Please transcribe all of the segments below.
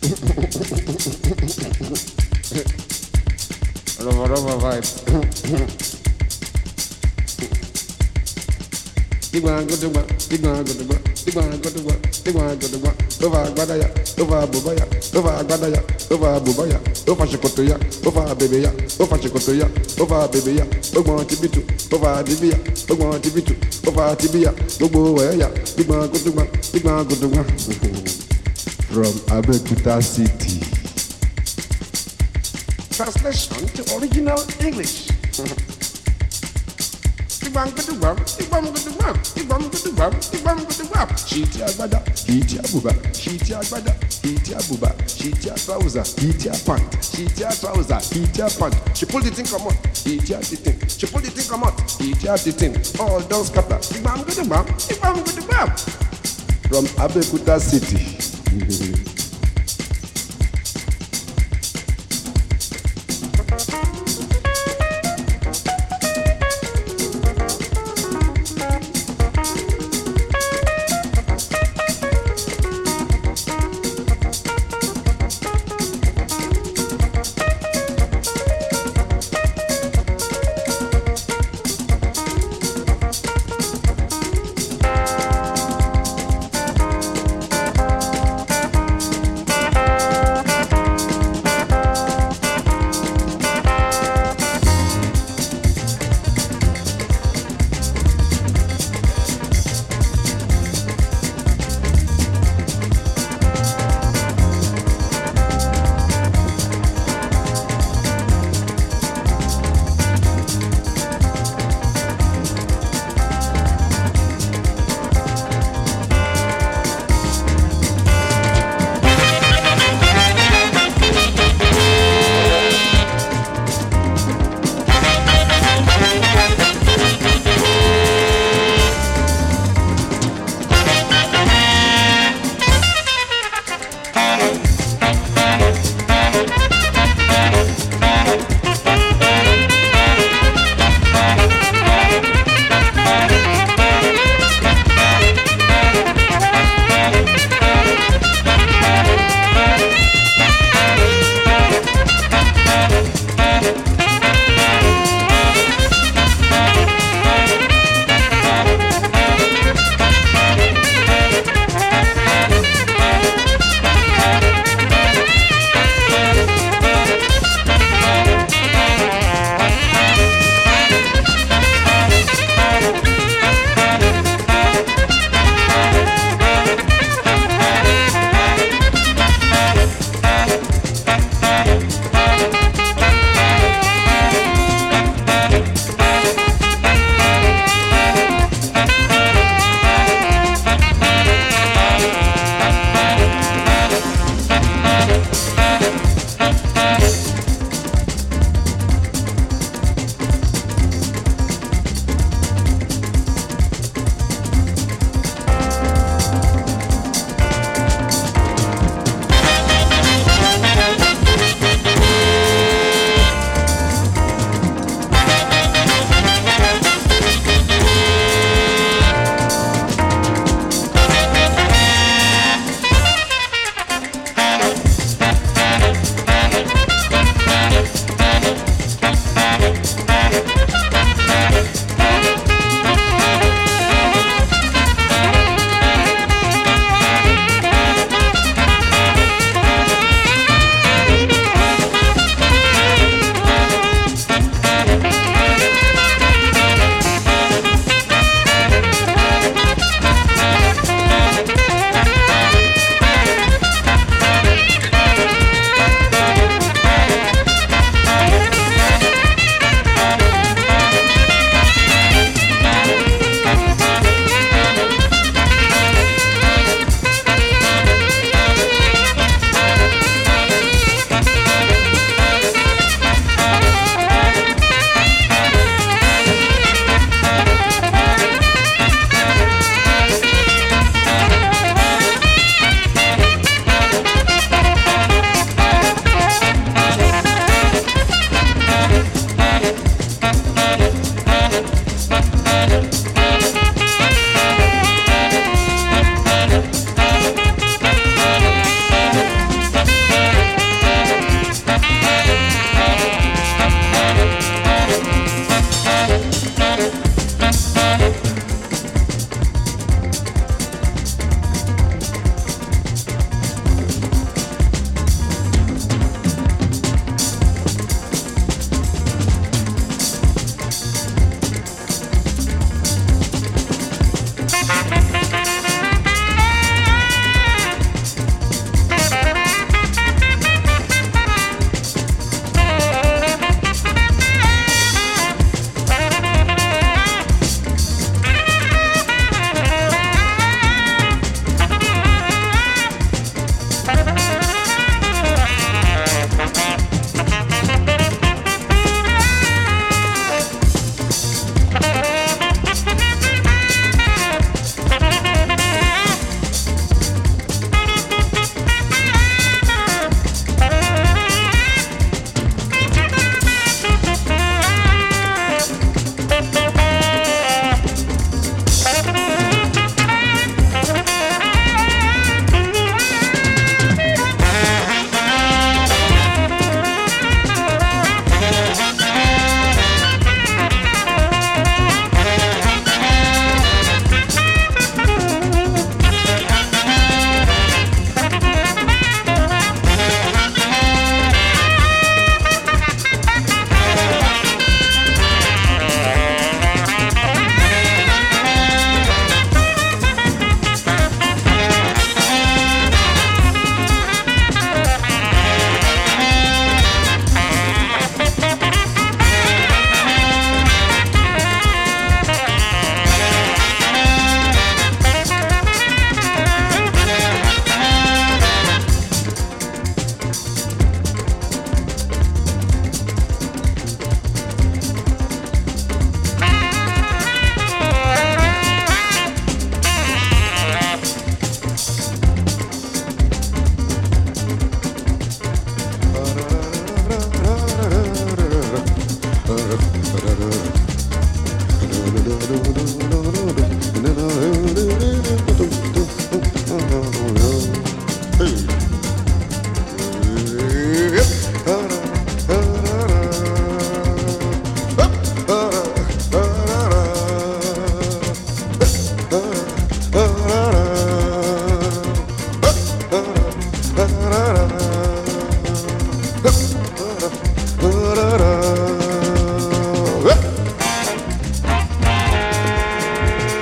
Rova vibes. Digwan go to one, digwan go to one, digwan go to one, digwan go to one. Over Guadaya, over Bubaya, over Guadaya, over Bubaya, over Shikotoya, over Baby, over Shikotoya, over Baby, over Tibitu, over Tibia, over Tibitu, over Tibia, Bobo Waya, digwan go to one, digwan go to one. From Abeokuta City. Translation to original English. Shiti agbada, shiti abuba, shiti agbada, shiti abuba, shiti trouser, shiti pant, shiti trouser, shiti pant. She pulled the thing come out, shiti the thing. She pulled the thing come out, shiti the thing. All down scatter. From Abeokuta City.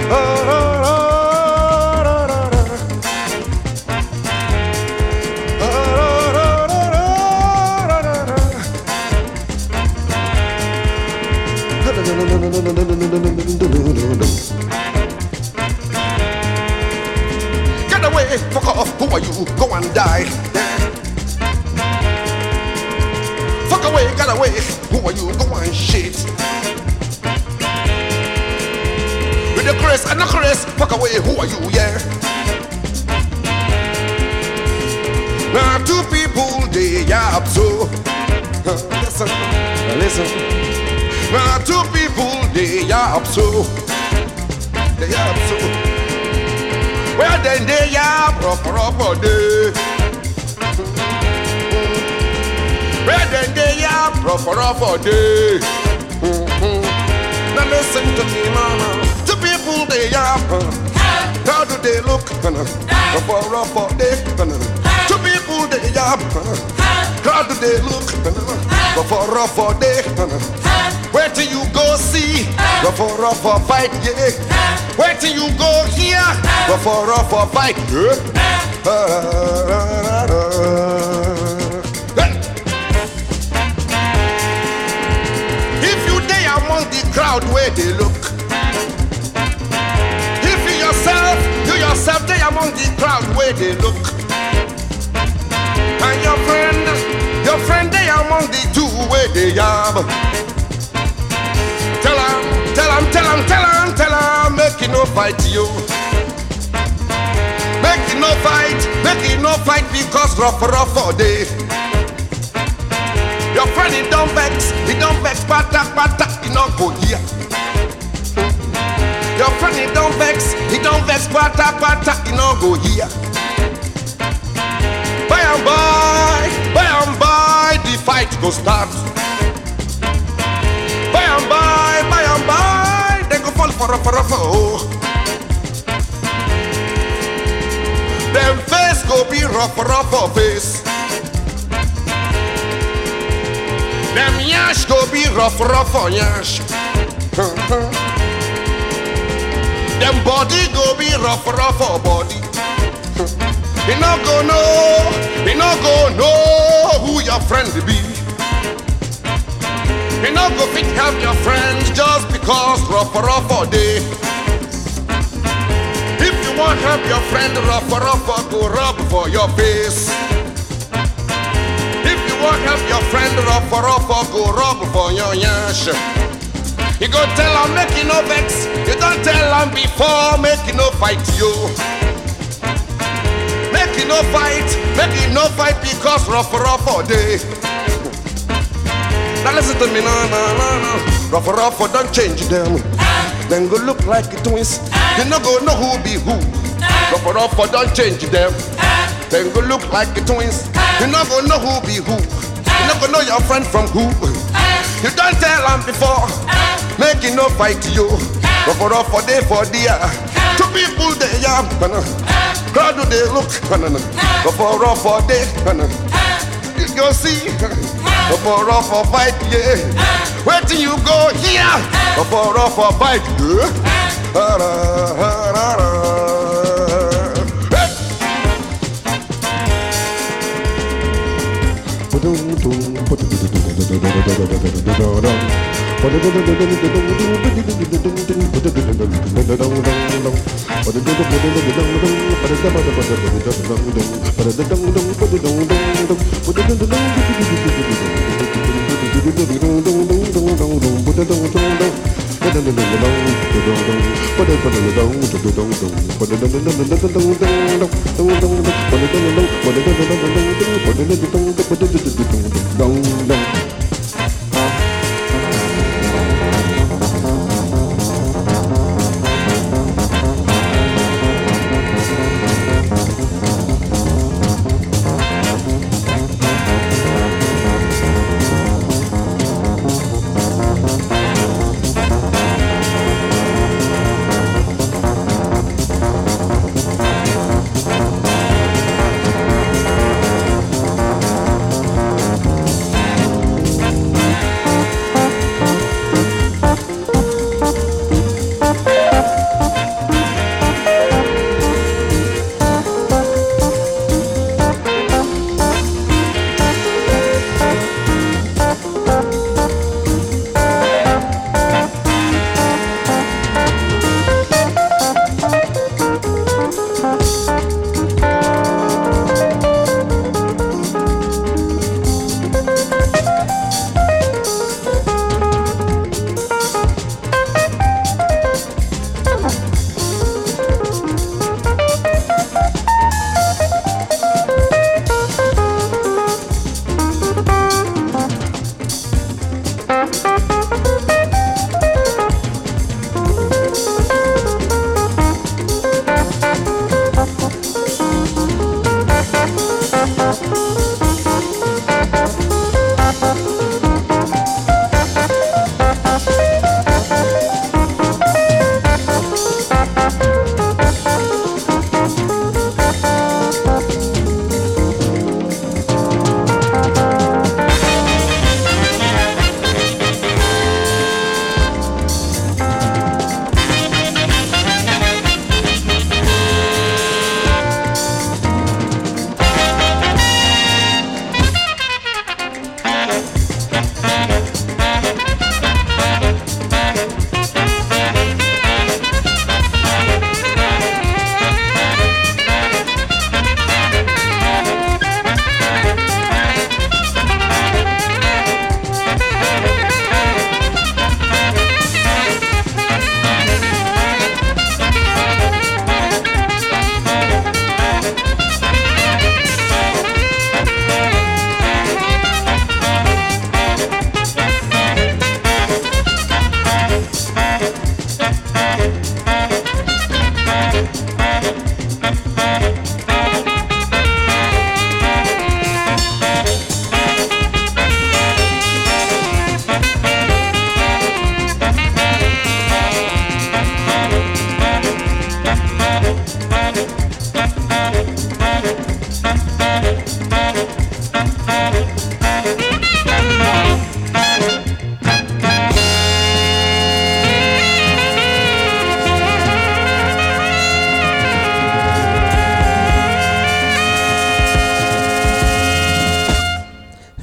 Get away, fuck off, who are you? Go and die. Fuck away, get away, who are you? Go and shit. With the Chris and the Chris, fuck away, who are you? Yeah. Now two people, they yap so. Listen, listen. Now two people, they yap so. They yap so. Well then they yap rough day. Well then they yap rough day. Now listen to me, mama. Two people, they yap. How do they look? Rough day. Two people, they yap. How do they look? Rough day. Where till you go see? Rough fight, yeah. Where till you go here? Rough fight, yeah. If you day among the crowd where they look. If you yourself day among the crowd where they look. And your friend day among the two where they yab. Tell him, make it no fight you. Make it no fight because rough all day. Your friend he don't vex, pata, he not go here. Your friend he don't vex, pata, he not go here. By and by, the fight go start. By and by, they go fall for oh. Them face go be rough face. Them yash go be rough yash. Them body go be rough body. He no go know who your friend be. He no go fit help your friend just because rough all day. If you want help your friend, rough go rub for your face. If you want help your friend, rough go rub for your yash. You go tell him make he no vex. You don't tell him before make he no fight you. Make he no fight because rough all day. Now listen to me, no. Rough don't change them. Then go look like twins. You no go know who be who. Rough don't change them. Then go look like twins. You no go know who be who. You no go know your friend from who. You don't tell them before. Make it no fight you. Rough day for dear. Two people they yam. How do they look? Rough day. You see. Rough fight, yeah. Where till you go here? Rough fight, yeah.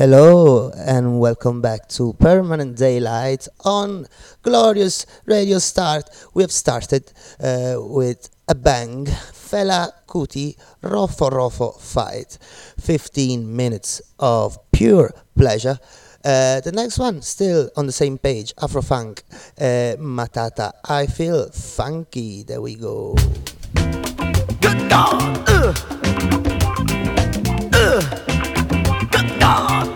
Hello and welcome back to Permanent Daylight on glorious Radio Start. We have started with a bang. Fela Kuti Rofo Rofo Fight. 15 minutes of pure pleasure. The next one, still on the same page, Afrofunk, Matata. I feel funky. There we go. Good God, good God,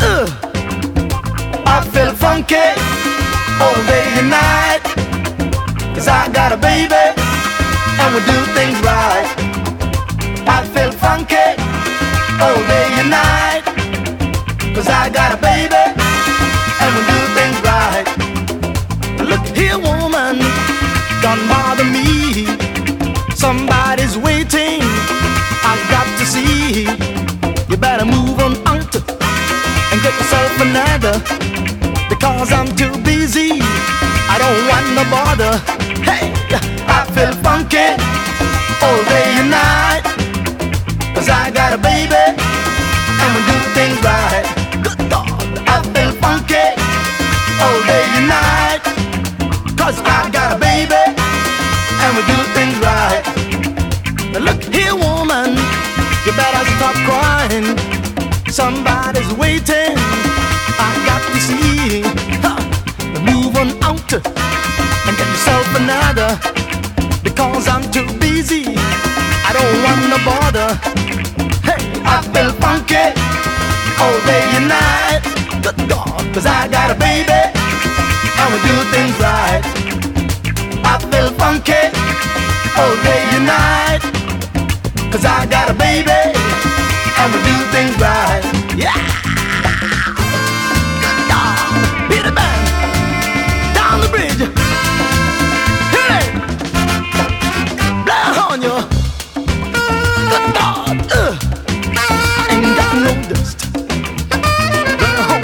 I feel funky all day and night, 'cause I got a baby and we do things right. I feel funky all day and night, 'cause I got a baby and we do things right. Look here, woman, don't bother me. Somebody's waiting, I've got to see. You better move on out and get yourself another, because I'm too busy, I don't want no bother. Hey, I feel funky all day and night, 'cause I got a baby and we do things right. Good God, I feel funky all day and night, 'cause I got a baby and we do things right. Now look here, woman, you better stop crying. Somebody's waiting, I got to see. Move on out and get yourself another, because I'm too busy, I don't want no bother. Hey, I feel funky all day and night. Good God, 'cause I got a baby and we do things right. I feel funky all day and night, 'cause I got a baby and we do things right. Yeah! Beat it back down the bridge. Hit it! Blow on you. Good God! Ain't got no dust. Blow home.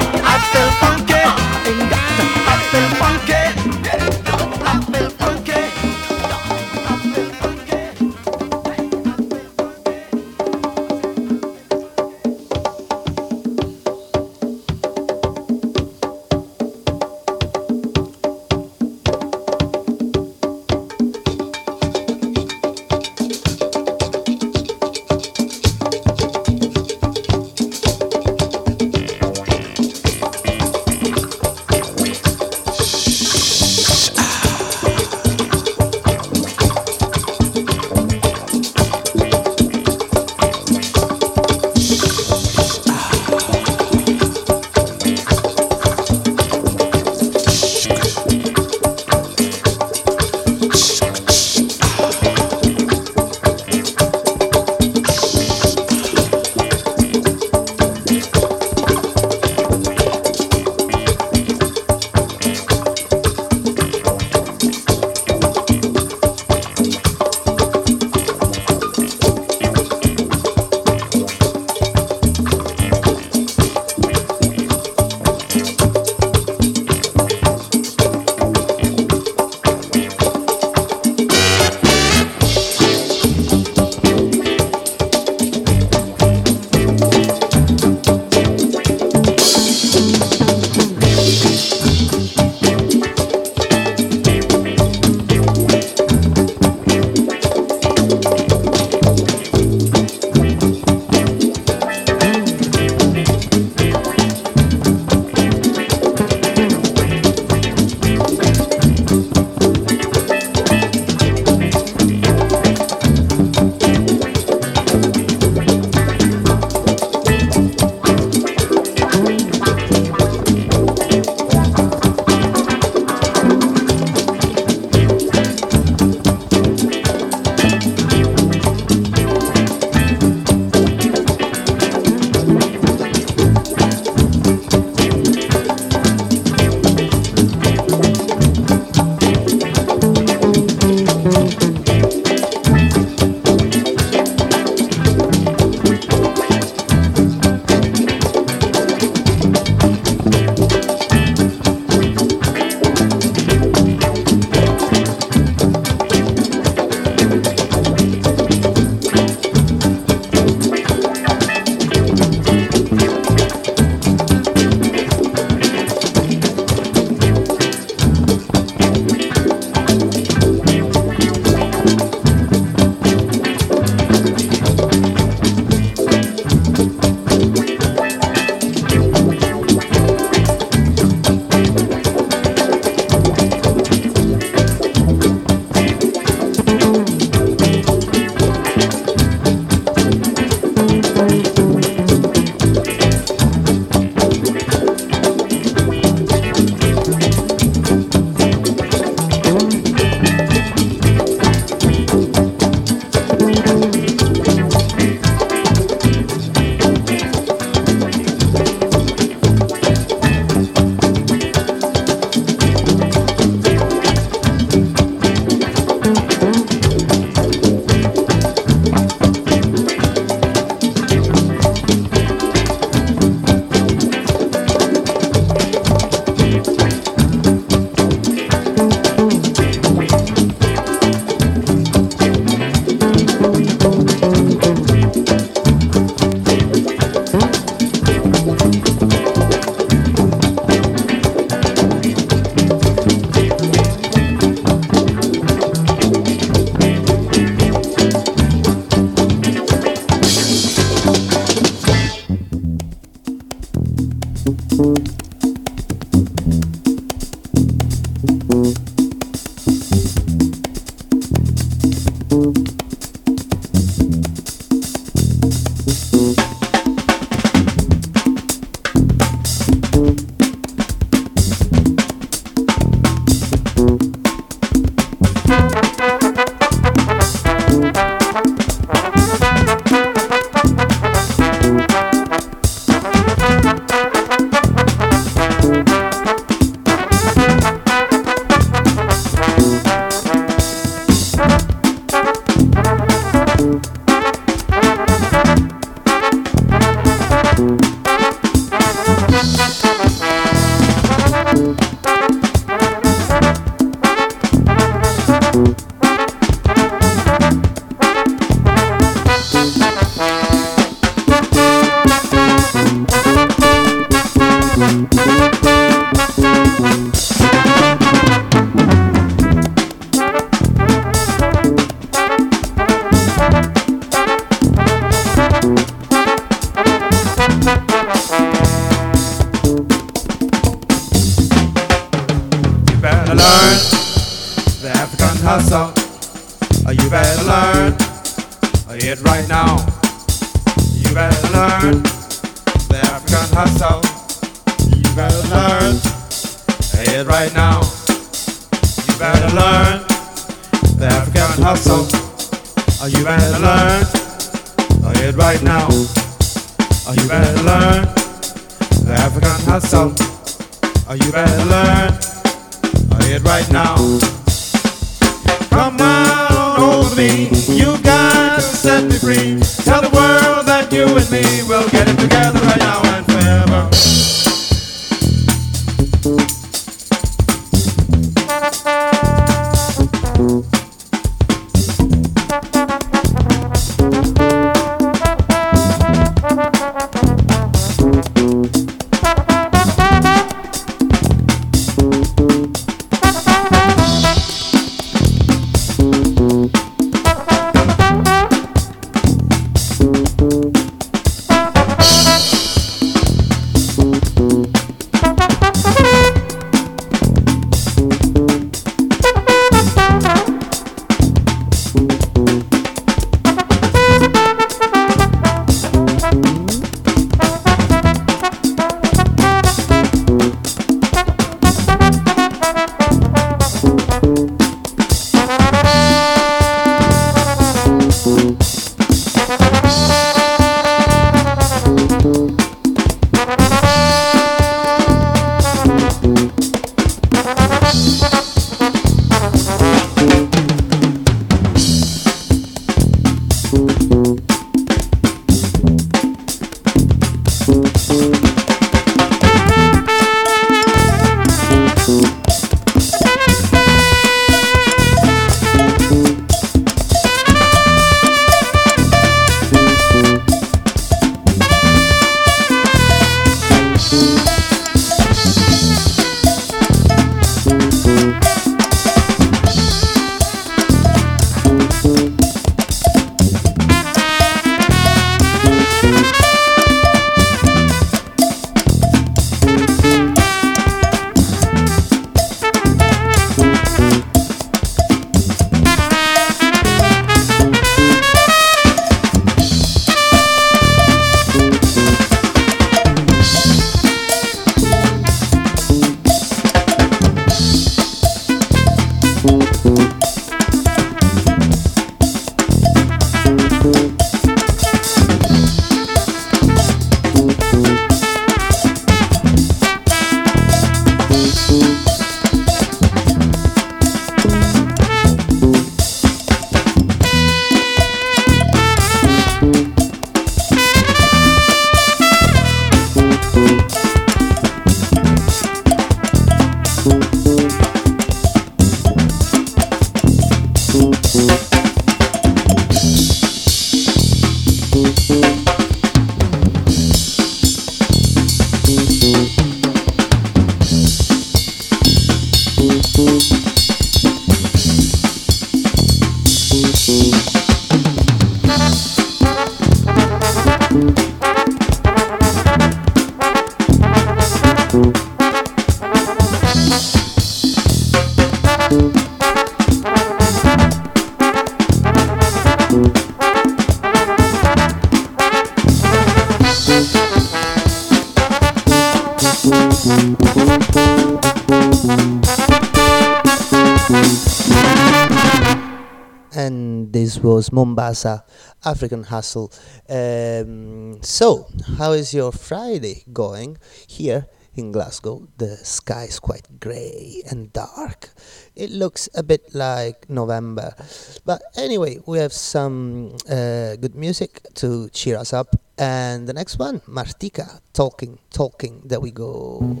This was Mombasa, African Hustle. So, how is your Friday going? Here in Glasgow, the sky is quite grey and dark. It looks a bit like November. But anyway, we have some good music to cheer us up. And the next one, Martika, Talking, there we go.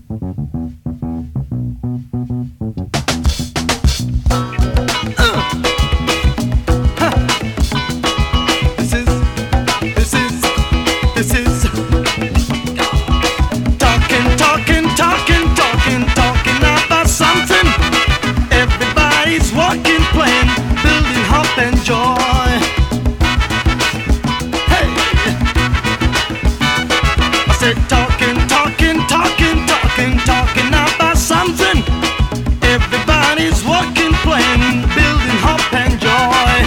This is talking about something. Everybody's walking, playing, building hope and joy. Hey, I said talking about something. Everybody's walking, playing, building hope and joy.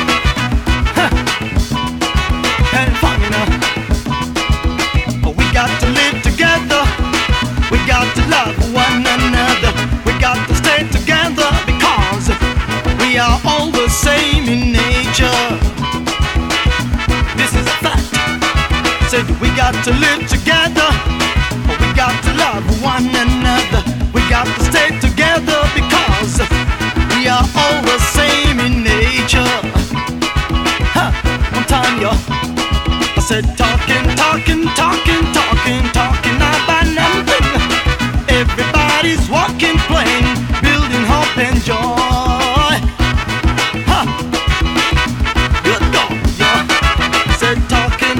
And funny now, we got to live together. We got to love one another. We got to stay together because we are all the same in nature. This is a fact. Said we got to live together. We got to love one another. We got to stay together because we are all the same in nature. One time, yo, I said talking about nothing. Everybody's walking, playing, building hope and joy. Good God, yeah. Said talking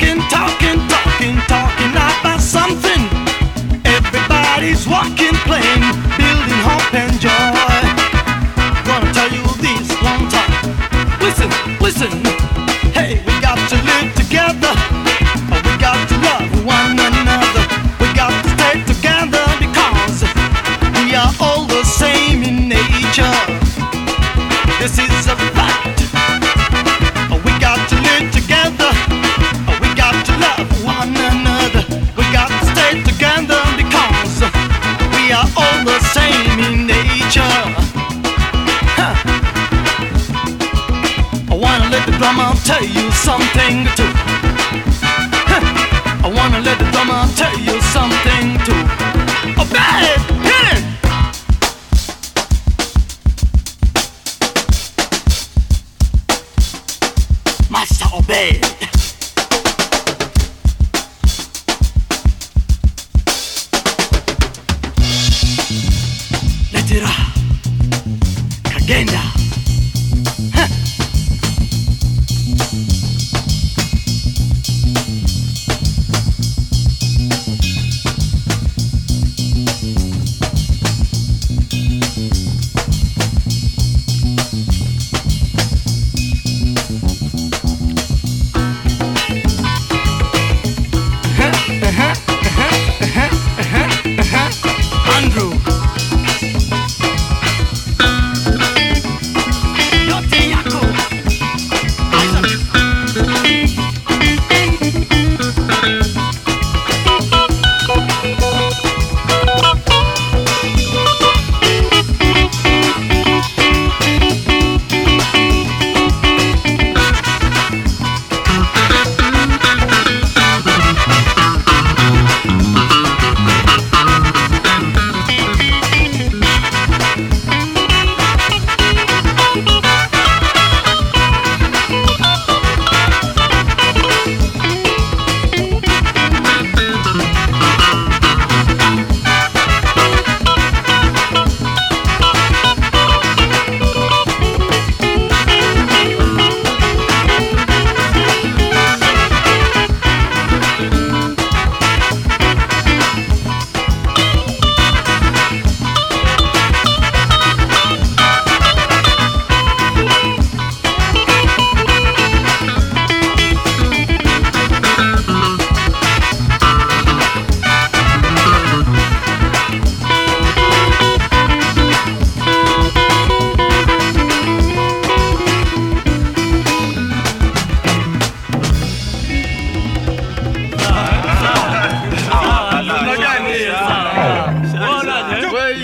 about something. Everybody's walking, playing, building hope and joy. Gonna tell you this long time. Listen. Hey, we got to live together. We got to love one another. We got to stay together because we are all the same in nature. This is a fact. We got to live together. We got to love one another. We got to stay together because we are all the same in nature. I wanna let the drummer tell you something too. I wanna let the drummer tell you something too. Oh, bad, hit it! Master obey. Let it out. Kagenda. Andrew.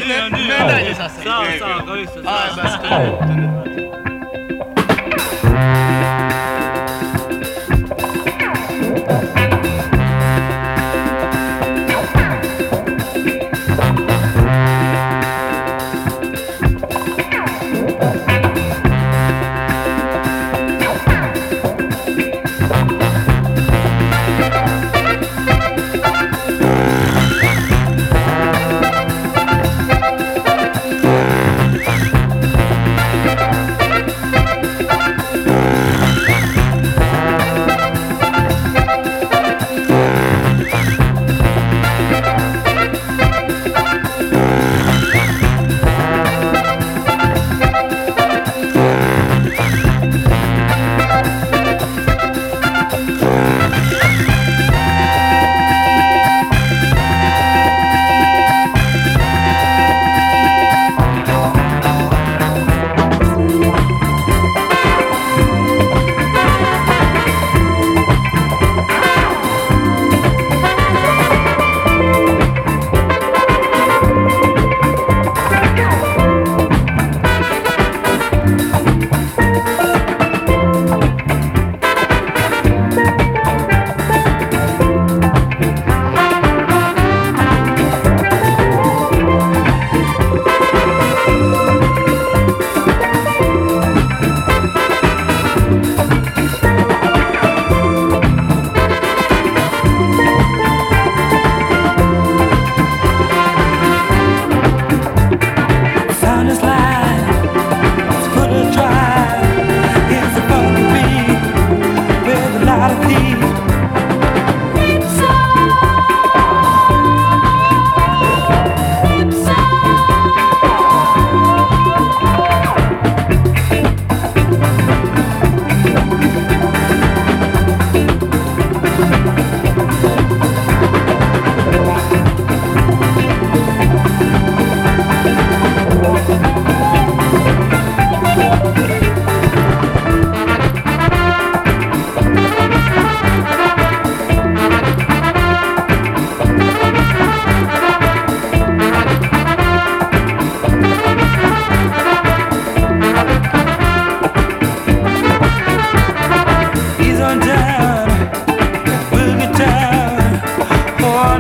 Sawa, kwa hiyo.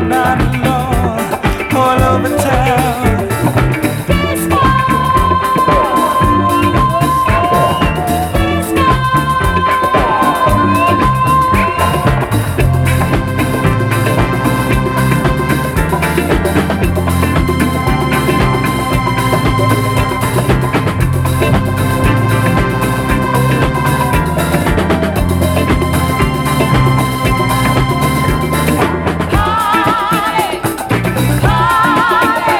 not alone, all over town. Party,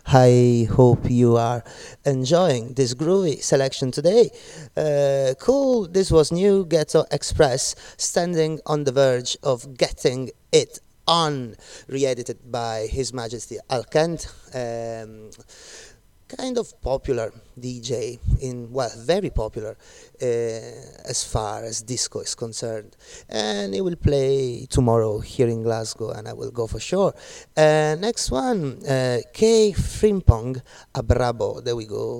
I hope you are enjoying this groovy selection today. Cool, this was New Ghetto Express, standing on the verge of getting it on, re-edited by His Majesty Al Kent. Kind of popular DJ very popular as far as disco is concerned, and he will play tomorrow here in Glasgow, and I will go for sure. Next one, K Frimpong, Abrabo. There we go.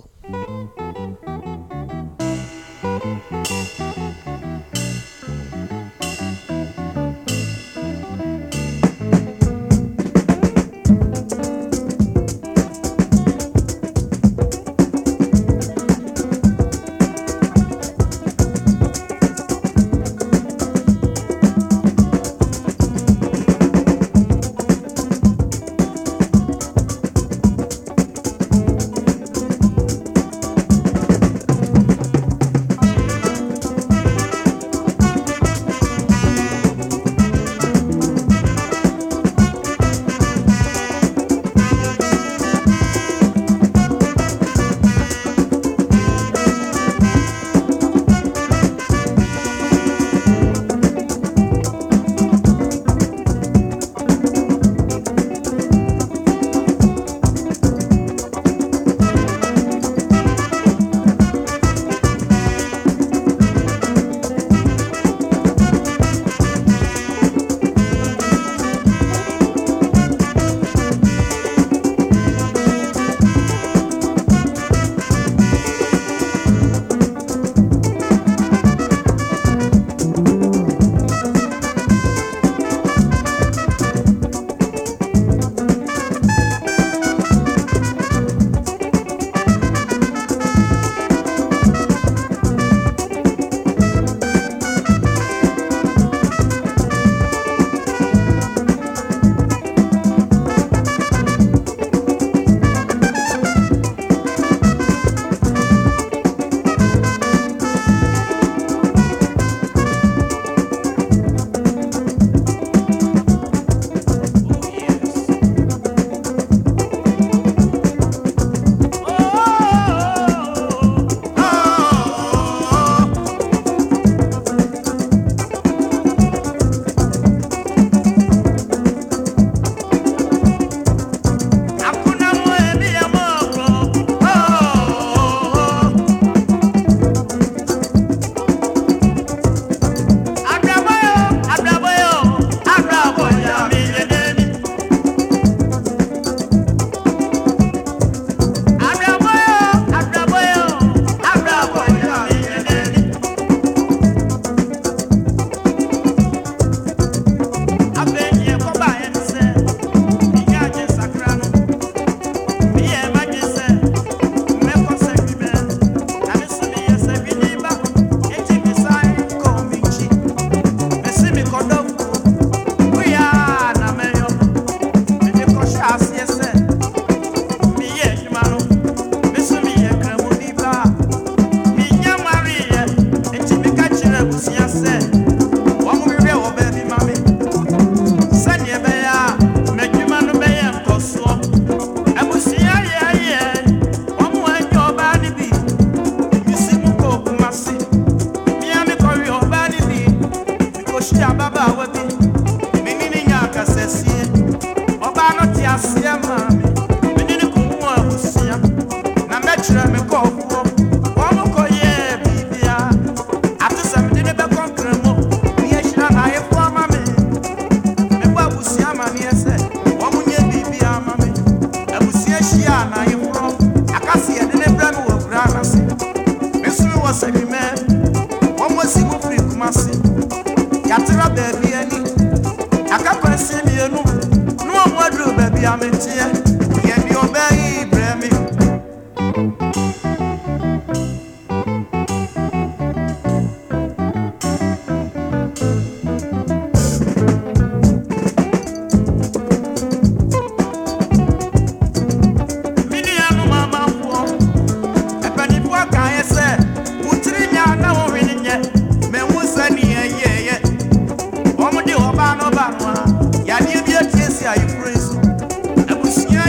Yeah, you be a case, yeah, you praise. I was here.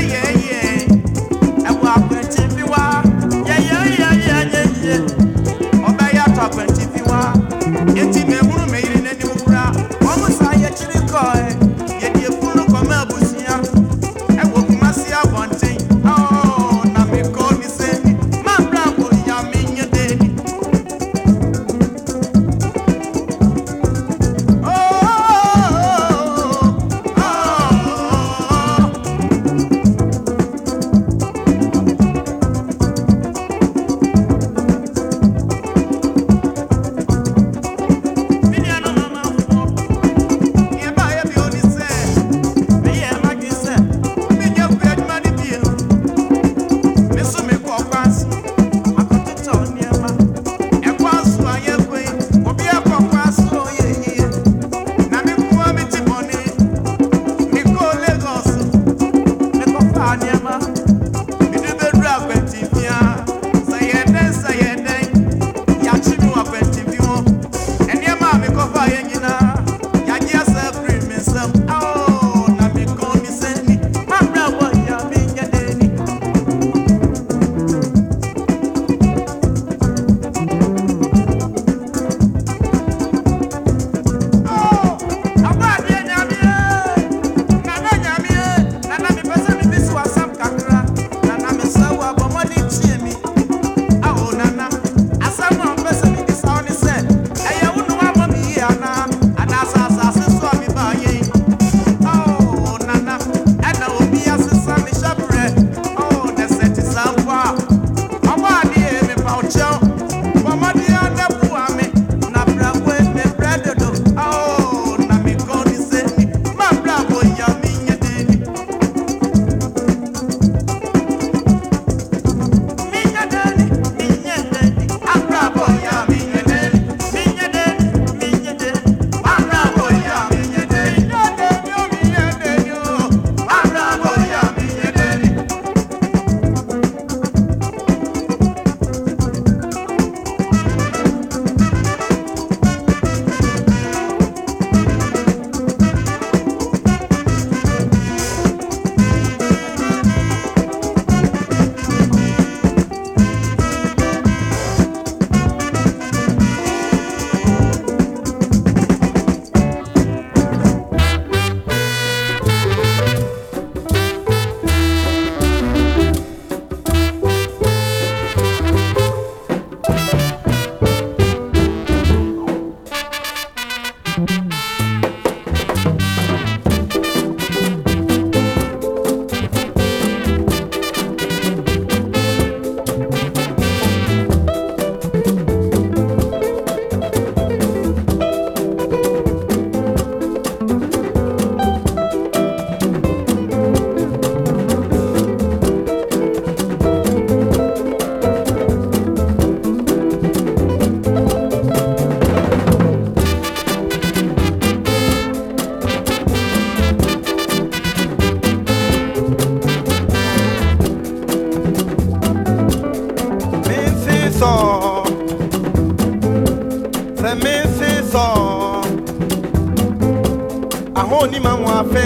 ahoni ma mo afe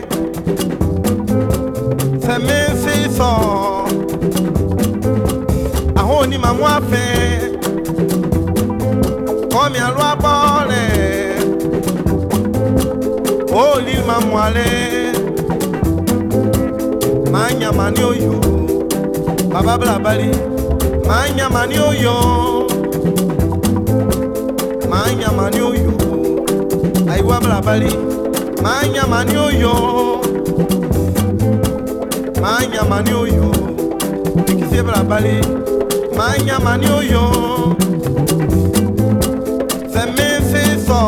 se me si so ahoni ma mo afe come a loi bole oh li ma mo ale manya mani oyo baba bla bali manya mani oyo manya mani oyo aiwa bla bali manya mani oyo manya mani oyo ikise bla bali manya mani oyo se me se so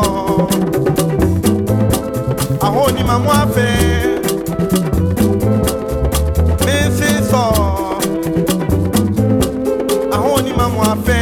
ahoni mamu afe me se so ahoni mamu afe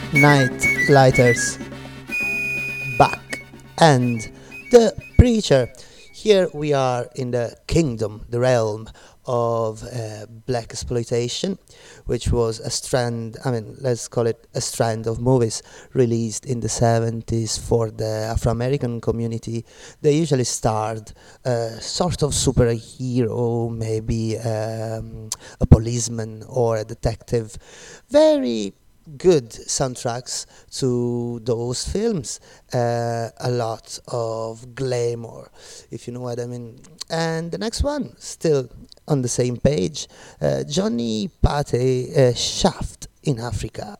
Night Lighters, Back, and The Preacher. Here we are in the kingdom, the realm of black exploitation, which was a strand, let's call it a strand of movies released in the 70s for the Afro-American community. They usually starred a sort of superhero, maybe a policeman or a detective. Very good soundtracks to those films, a lot of glamour, if you know what I mean. And the next one, still on the same page, Johnny Pate, Shaft in Africa.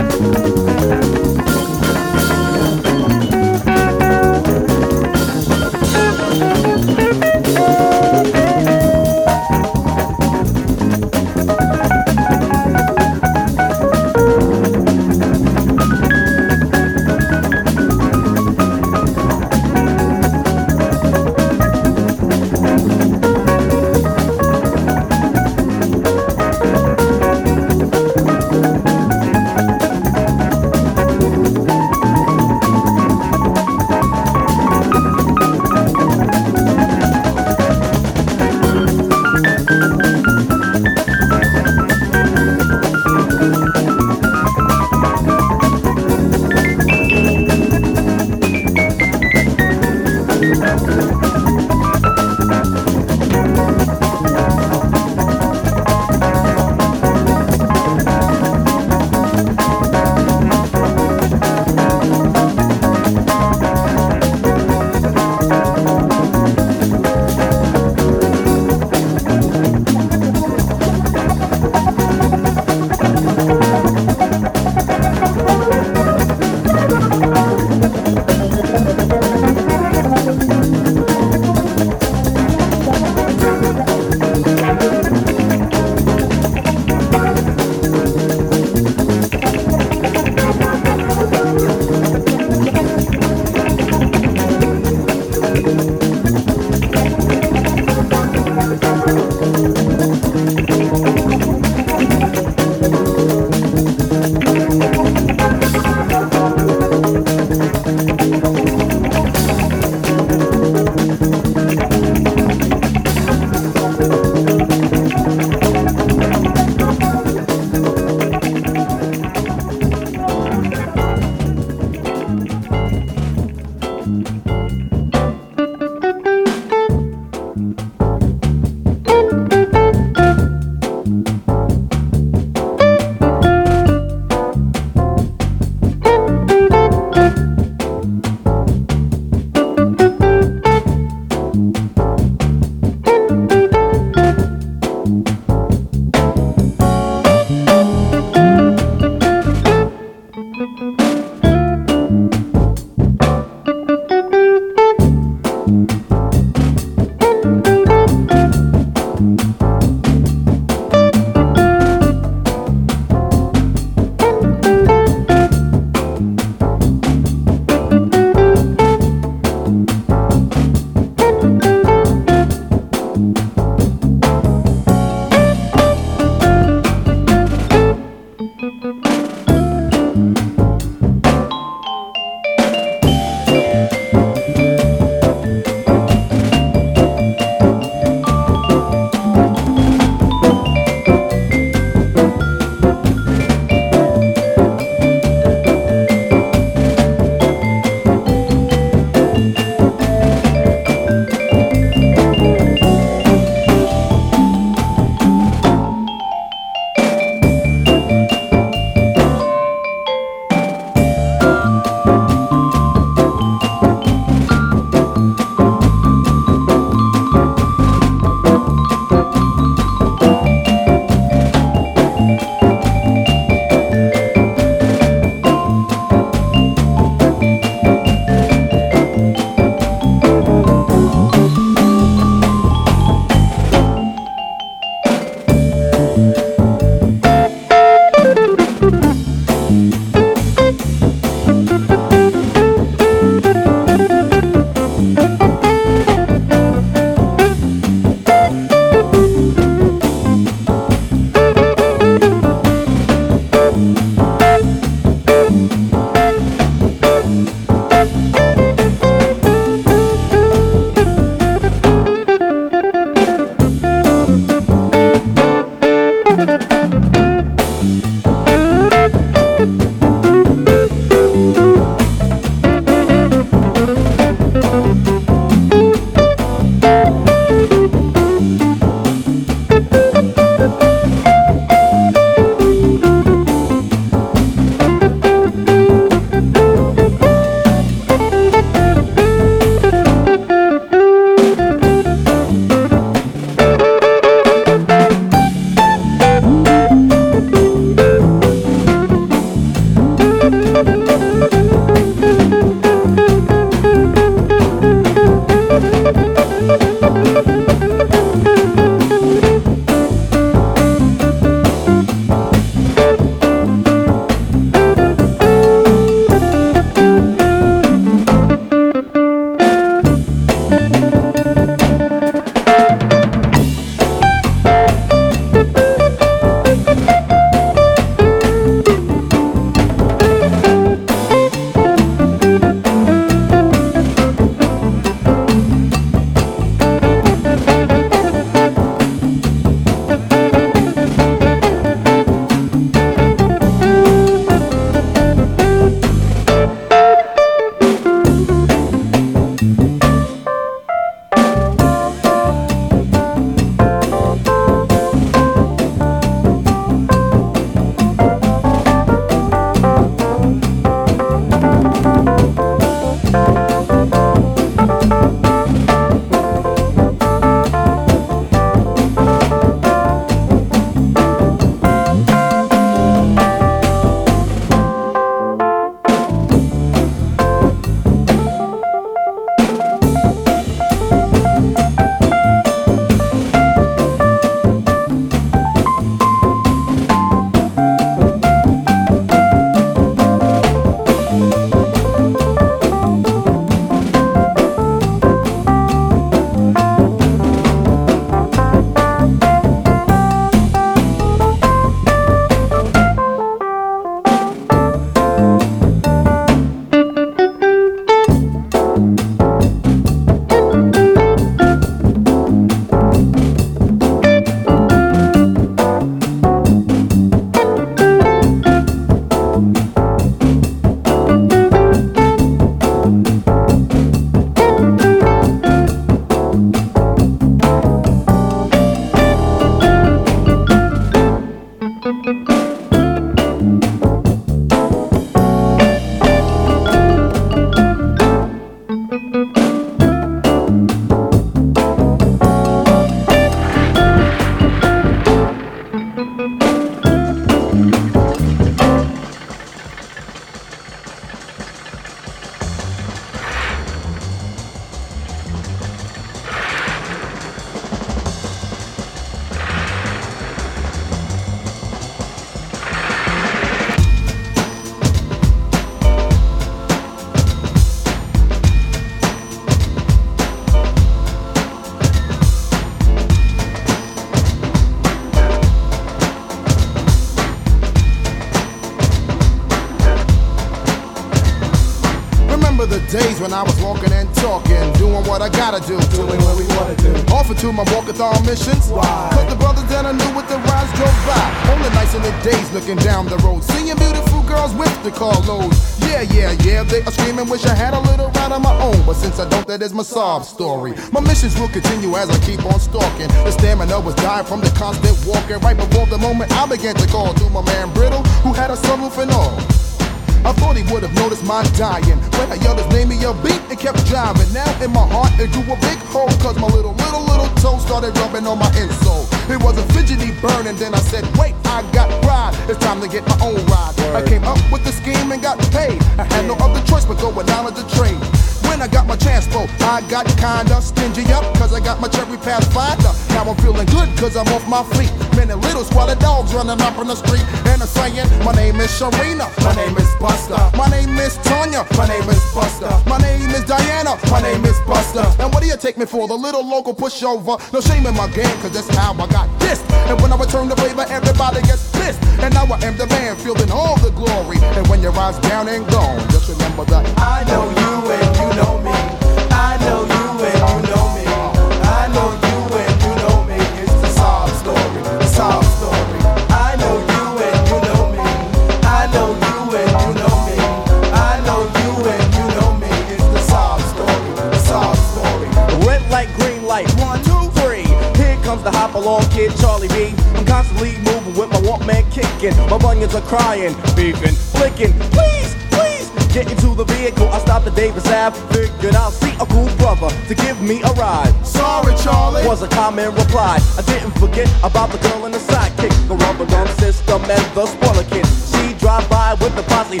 days when I was walking and talking, doing what I gotta do, doing what we wanna do. Offered to my walkathon missions. Why? Cause the brothers that I knew with the rides drove by. Only nights in the days looking down the road, seeing beautiful girls with the carloads. Yeah, they are screaming, wish I had a little ride of my own. But since I don't, that is my sob story. My missions will continue as I keep on stalking. The stamina was dying from the constant walking. Right before the moment I began to call to my man Brittle, who had a sunroof and all. I thought he would have noticed my dying. When I yelled his name, he a beat and kept driving. Now in my heart it grew a big hole, cause my little toe started rubbing on my insole. It was a fidgety burn, and then I said, wait, I got pride. It's time to get my own ride. I came up with the scheme and got paid. I had no other choice but go with knowledge of trade. When I got my transpo, I got kinda stingy up, cause I got my cherry pathfinder. Now I'm feeling good cause I'm off my feet. Many little squalid dogs running up on the street, and I'm saying, my name is Sharina, my name is Buster, my name is Tanya, my name is Buster, my name is Diana, my name is Buster. And what do you take me for, the little local pushover? No shame in my game, cause that's how I got dissed. And when I return the favor, everybody gets pissed. And now I am the man, fielding all the glory. And when your ride's down and gone, just remember that I know you and you know me. I know you and you know me. I know you and you know me. It's the sob story, the sob story. I know you and you know me. I know you and you know me. I know you and you know me. It's the sob story, the sob story. Red light, green light, 1, 2, 3. Here comes the hop along kid, Charlie B. I'm constantly moving with my Walkman kicking. My bunions are crying, beefing, flicking. Please, please, get into the vehicle. I stopped at Davis Ave, figured I'll see a cool brother to give me a ride. Sorry, Charlie, was a common reply. I didn't forget about the girl and the sidekick, the rubber drum system and the spoiler kid. She drive by with the posse.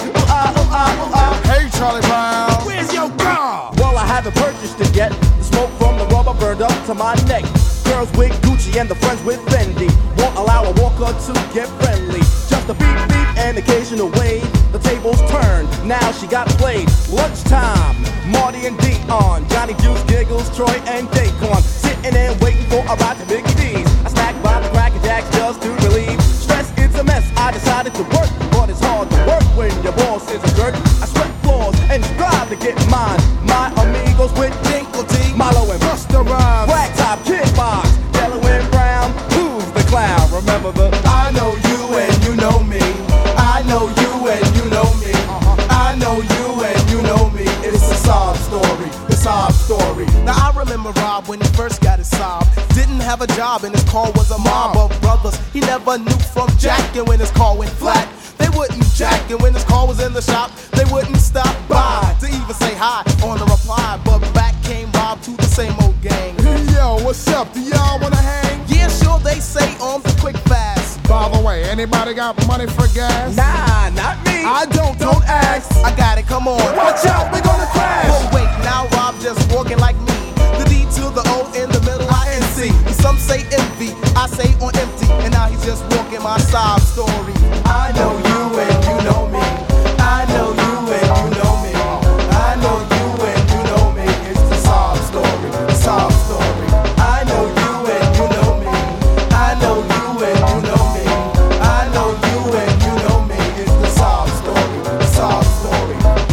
Hey, Charlie Brown, where's your car? Well, I haven't purchased it yet. The smoke from the rubber burned up to my neck. Girls with Gucci and the friends with Fendi won't allow a walker to get friendly. Just a beep beep and occasional wave. The tables turned, now she got played. Lunchtime, Marty and Dion, Johnny Juice, Giggles, Troy and Daquan, sitting and waiting for a ride to Biggie D's. I snack by the Cracker Jacks just to relieve stress. It's a mess. I decided to work, but it's hard to work when your boss is a jerk. I sweat floors and strive to get mine. My amigos with Dinkle T, Milo and Busta Rhymes, Black Top, Kid Box, Yellow and Brown. Who's the clown? Remember the I know you and you know me. I know you and you know me. I know you and you know me. It's a sob story, the sob story. Now I remember Rob when he first got his sob. Didn't have a job and his car was a mob of brothers. He never knew from jacking when his car went flat. They wouldn't jack, and when his car was in the shop, they wouldn't stop by to even say hi on the reply. But back came Rob to the same old gang. Hey, yo, what's up? Do y'all wanna hang? Yeah, sure, they say on the quick fast. By the way, anybody got money for gas? Nah, not me. I don't ask. I got it, come on. Watch out, we gonna crash. But wait, now Rob just walking like me. The D to the O in the middle, I-N-C. Some say envy, I say on empty. And now he's just walking my sob story. I know you and you know me. I know you and you know me. I know you and you know me. It's the sob story, the sob story. I know you and you know me. I know you and you know me. I know you and you know me. It's the sob story, the sob story.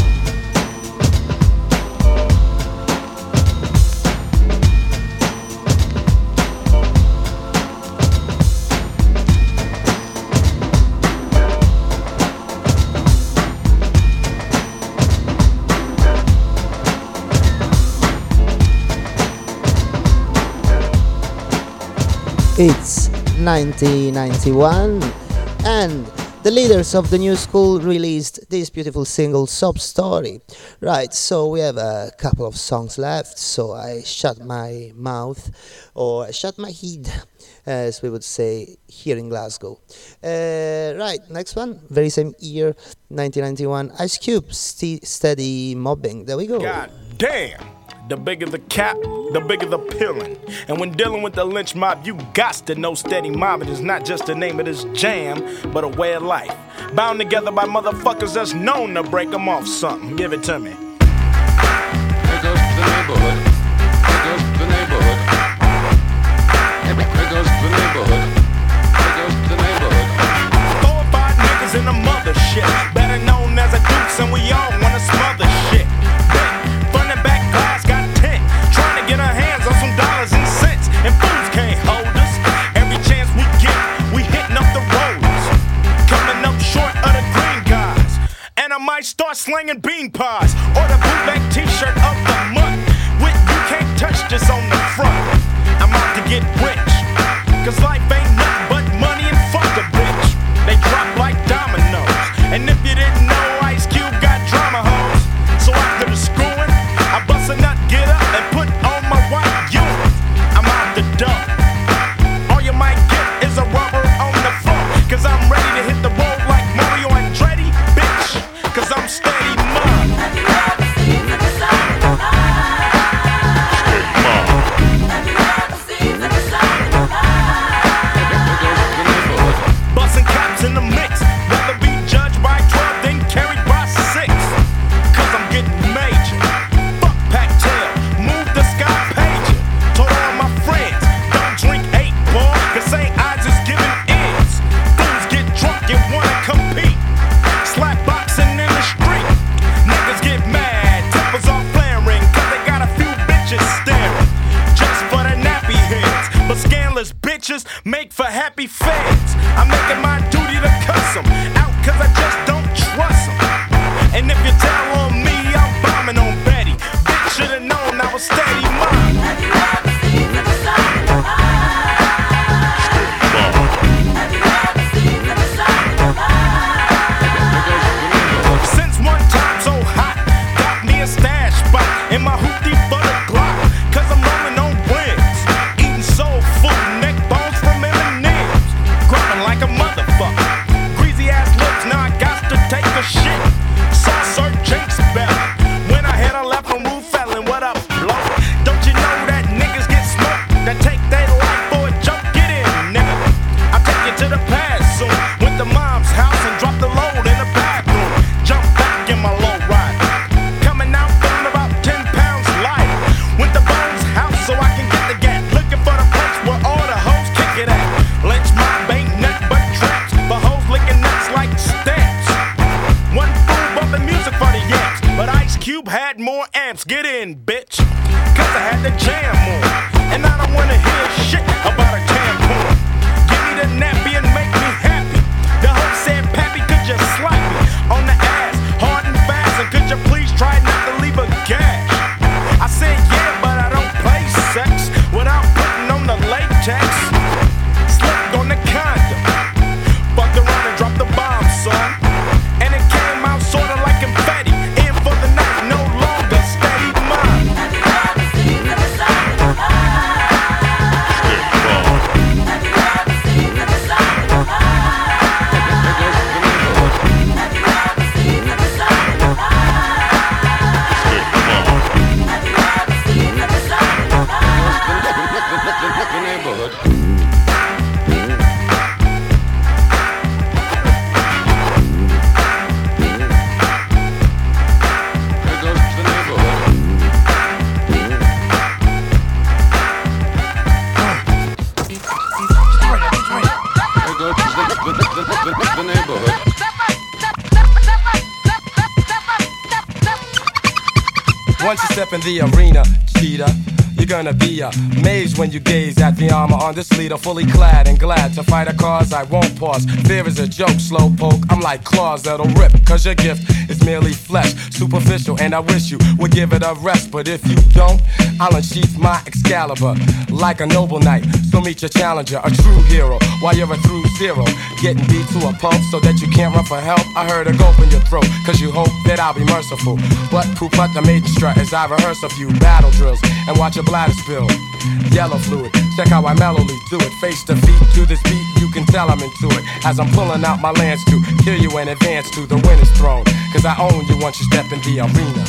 It's 1991 and the leaders of the new school released this beautiful single, Sob Story. Right, so we have a couple of songs left, so I shut my mouth, or I shut my head, as we would say here in Glasgow. Right, next one, very same year, 1991, Ice Cube, Steady Mobbing. There we go. God damn! The bigger the cap, the bigger the pillin'. And when dealing with the lynch mob, you gots to know steady mobbing is not just the name of this jam, but a way of life. Bound together by motherfuckers that's known to break them off something. Give it to me. There goes the neighborhood. There goes the neighborhood. There goes the neighborhood. There goes the neighborhood. 4 or 5 niggas in the mothership, better known as a dukes, and we all wanna smother shit. might start slinging bean pies or the bootleg t-shirt of the month with "You Can't Touch This" on the front. I'm out to get rich, cause life ain't nothing but money and fuck a bitch. They drop like dominoes, and if you didn't know, Ice Cube got drama hoes. So after the screwing, I bust a nut, get up, and put on my white unit. I'm out the door. All you might get is a rubber on the floor, cause I'm ready to hit the road like Mario Andretti, bitch, cause I'm steady mud. Have you ever seen the sun in the night? Have you ever seen the sun in the night? Busting caps in the mix, rather be judged by 12 than carried by 6. Cause I'm getting major. Fuck Pac-Tail, move the sky pager. Told all my friends, don't drink 8, boy, cause St. Ides is giving ends. Fools get drunk and wanna compete. Slap boxing in the street. Niggas get mad, tempers are flaring, cause they got a few bitches staring. Just for the nappy heads, but scandalous bitches make for happy feds. I'm making my duty to cuss them out, cause I just don't trust them. And if you tell on me, I'm bombing on Betty. Bitch should've known I was steady mine. Have you ever seen the sun in the night? Have you ever seen the sun in the night? Since one time so hot, got me a stash spot in my hoopty for the Glock. Cause I'm rolling on rims, eating soul food, neck bones from M&M's. Growing like a motherfucker, greasy ass lips, now I got to take a shit. Saw Sir Jinx belly, when I had a left from Roof Felon, what up, blow? Don't you know that niggas get smoked, that take their life for a joke? Get in, nigga. I'll take you to the past soon, went to mom's house and dropped the load in the bathroom. Jump back in my low ride, coming out feeling about 10 pounds lighter. Went to Bones' house so I can get the gat, looking for the place where all the hoes kick it at. Lynch mob ain't nothing but traps, for hoes licking nuts like stamps. One fool bumping music for the yanks, but Ice Cube had more amps. Get in, bitch, cause I had the jam on, and I don't wanna hear shit about a tampon. Give me the nappy and make me happy. The hoe said, Pappy, could you slap me on the ass, hard and fast, and could you please try not to leave a gash? I said, yeah, but I don't play sex without putting on the latex. Slipped on the condom, fucked around and dropped the bomb, son. And it came out sorta like confetti. In for the night, no longer steady mine. Have you ever seen the sun in the night? Have you ever seen the sun in the night? Have you ever seen the sun in the night? Have you ever seen the sun in the night? The neighborhood. There goes the neighborhood. There goes the neighborhood. Once you step in the arena, cheetah, you're gonna be amazed when you gaze at the armor on this leader, fully clad and glad to fight a cause I won't pause. Fear is a joke, slow poke. I'm like claws that'll rip, cause your gift is merely flesh, superficial, and I wish you would give it a rest. But if you don't, I'll unsheath my Excalibur like a noble knight. So meet your challenger, a true hero, while you're a through zero, getting beat to a pulp so that you can't run for help. I heard a gulp in your throat, cause you hope that I'll be merciful. But poop out the maiden strut as I rehearse a few battle drills and watch your bladder spill yellow fluid. Check how I mellowly do it, face to feet to this beat. You can tell I'm into it as I'm pulling out my lance to kill you and advance to the winner's throne. Cause I own you once you step in the arena.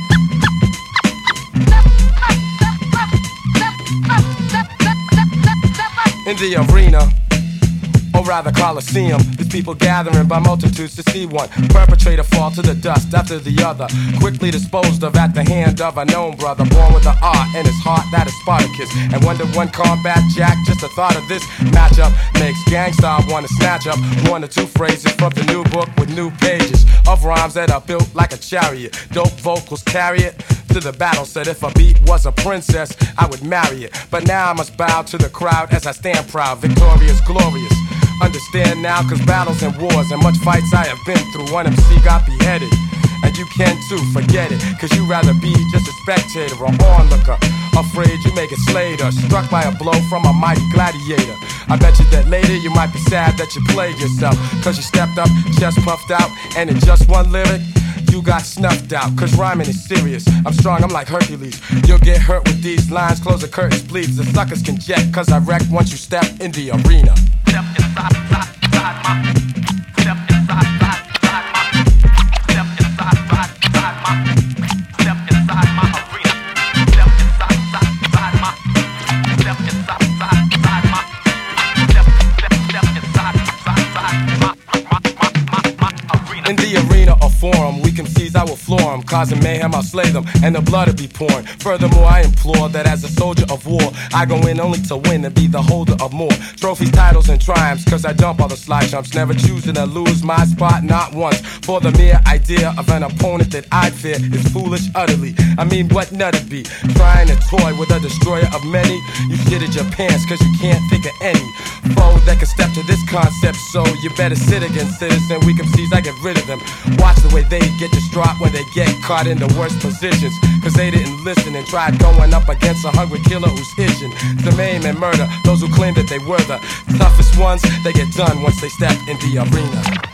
In the arena, or rather Coliseum, there's people gathering by multitudes to see one perpetrator fall to the dust after the other, quickly disposed of at the hand of a known brother, born with an art in his heart that is Spartacus. And Wonder One Combat Jack, just the thought of this matchup makes Gangstar wanna snatch up one or two phrases from the new book with new pages of rhymes that are built like a chariot. Dope vocals carry it to the battle. Said if a beat was a princess, I would marry it. But now I must bow to the crowd as I stand proud, victorious, glorious. Understand now, cause battles and wars and much fights I have been through. One MC got beheaded And you can too, forget it, cause you'd rather be just a spectator or onlooker. Afraid you may get slayed or struck by a blow from a mighty gladiator. I bet you that later you might be sad that you played yourself, cause you stepped up, chest puffed out, and in just one lyric, you got snuffed out, cause rhyming is serious. I'm strong, I'm like Hercules. You'll get hurt with these lines, close the curtains, please. The suckers can jet, cause I wreck once you step in the arena. Step inside, inside, inside my. Step inside, inside, inside my. Step inside, inside, inside my. Step inside my arena. Step inside, inside, inside my. Step inside, inside, inside my. Step inside, inside, inside my arena. In the arena or forum, we can seize, I will floor them. Causing mayhem, I'll slay them, and the blood will be pouring. Furthermore, I implore that as a soldier of war, I go in only to win and be the holder of more trophies, titles, and triumphs. Cause I jump all the slide jumps, never choosing to lose my spot, not once. For the mere idea of an opponent that I fear is foolish utterly. I mean, what nut'd be? Trying to toy with a destroyer of many? You shitted your pants cause you can't think of any foe that can step to this concept. So you better sit against citizen. We can seize, I get rid of them. Watch the way they get distraught when they get caught in the worst positions, cause they didn't listen and tried going up against a hungry killer who's itching to maim and murder those who claim that they were the toughest ones. They get done once they step in the arena.